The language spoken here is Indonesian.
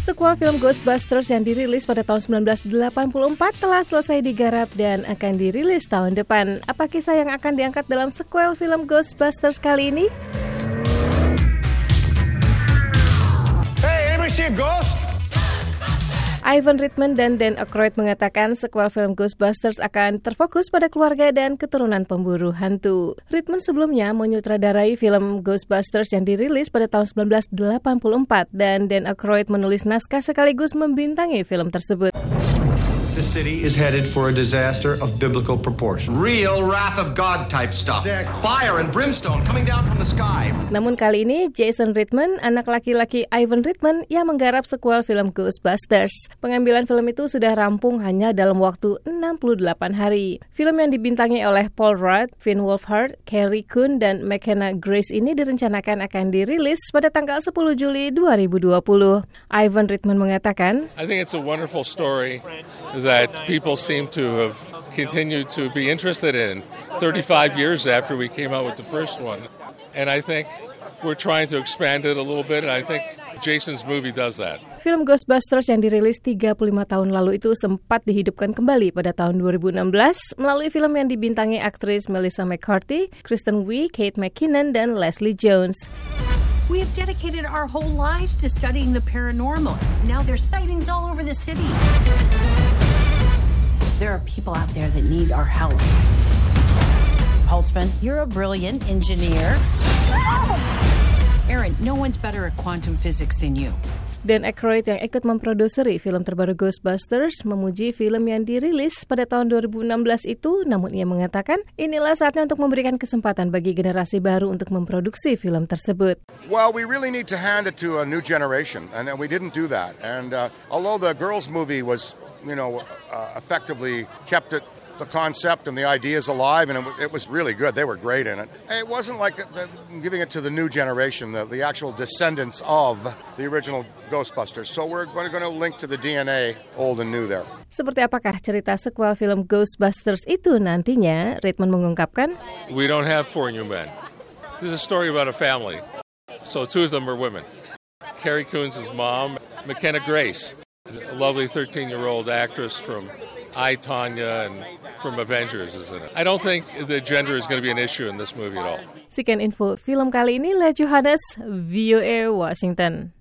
Sequel film Ghostbusters yang dirilis pada tahun 1984 telah selesai digarap dan akan dirilis tahun depan. Apa kisah yang akan diangkat dalam sequel film Ghostbusters kali ini? Hey, anybody see a ghost? Ivan Reitman dan Dan Aykroyd mengatakan sequel film Ghostbusters akan terfokus pada keluarga dan keturunan pemburu hantu. Reitman sebelumnya menyutradarai film Ghostbusters yang dirilis pada tahun 1984 dan Dan Aykroyd menulis naskah sekaligus membintangi film tersebut. The city is headed for a disaster of biblical proportion. Real wrath of God type stuff. Exactly. Fire and brimstone coming down from the sky. Namun kali ini Jason Reitman, anak laki-laki Ivan Reitman yang menggarap sequel film Ghostbusters. Pengambilan film itu sudah rampung hanya dalam waktu 68 hari. Film yang dibintangi oleh Paul Rudd, Finn Wolfhard, Carrie Coon, dan McKenna Grace ini direncanakan akan dirilis pada tanggal 10 Juli 2020. Ivan Reitman mengatakan, I think it's a wonderful story that people seem to have continued to be interested in 35 years after we came out with the first one. And I think we're trying to expand it a little bit, and I think Jason's movie does that. Film Ghostbusters yang dirilis 35 tahun lalu itu sempat dihidupkan kembali pada tahun 2016 melalui film yang dibintangi aktris Melissa McCarthy, Kristen Wiig, Kate McKinnon, dan Leslie Jones. We have dedicated our whole lives to studying the paranormal. Now there's sightings all over the city. There are people out there that need our help. Holtzman, you're a brilliant engineer. Aaron, no one's better at quantum physics than you. Dan Aykroyd yang ikut memproduseri film terbaru Ghostbusters memuji film yang dirilis pada tahun 2016 itu, namun ia mengatakan inilah saatnya untuk memberikan kesempatan bagi generasi baru untuk memproduksi film tersebut. Well, we really need to hand it to a new generation, and we didn't do that. And although the girls' movie was, effectively kept the concept and the ideas alive, and it was really good. They were great in it. It wasn't like giving it to the new generation, the actual descendants of the original Ghostbusters. So we're going to link to the DNA, old and new there. Seperti apakah cerita sequel film Ghostbusters itu nantinya? Reitman mengungkapkan, We don't have four new men. This is a story about a family. So two of them are women. Carrie Coon's mom, McKenna Grace, a lovely 13-year-old actress from I, Tonya, and from Avengers is in it. I don't think the gender is going to be an issue in this movie at all. Sekian info film kali ini, Leah Johannes, VOA Washington.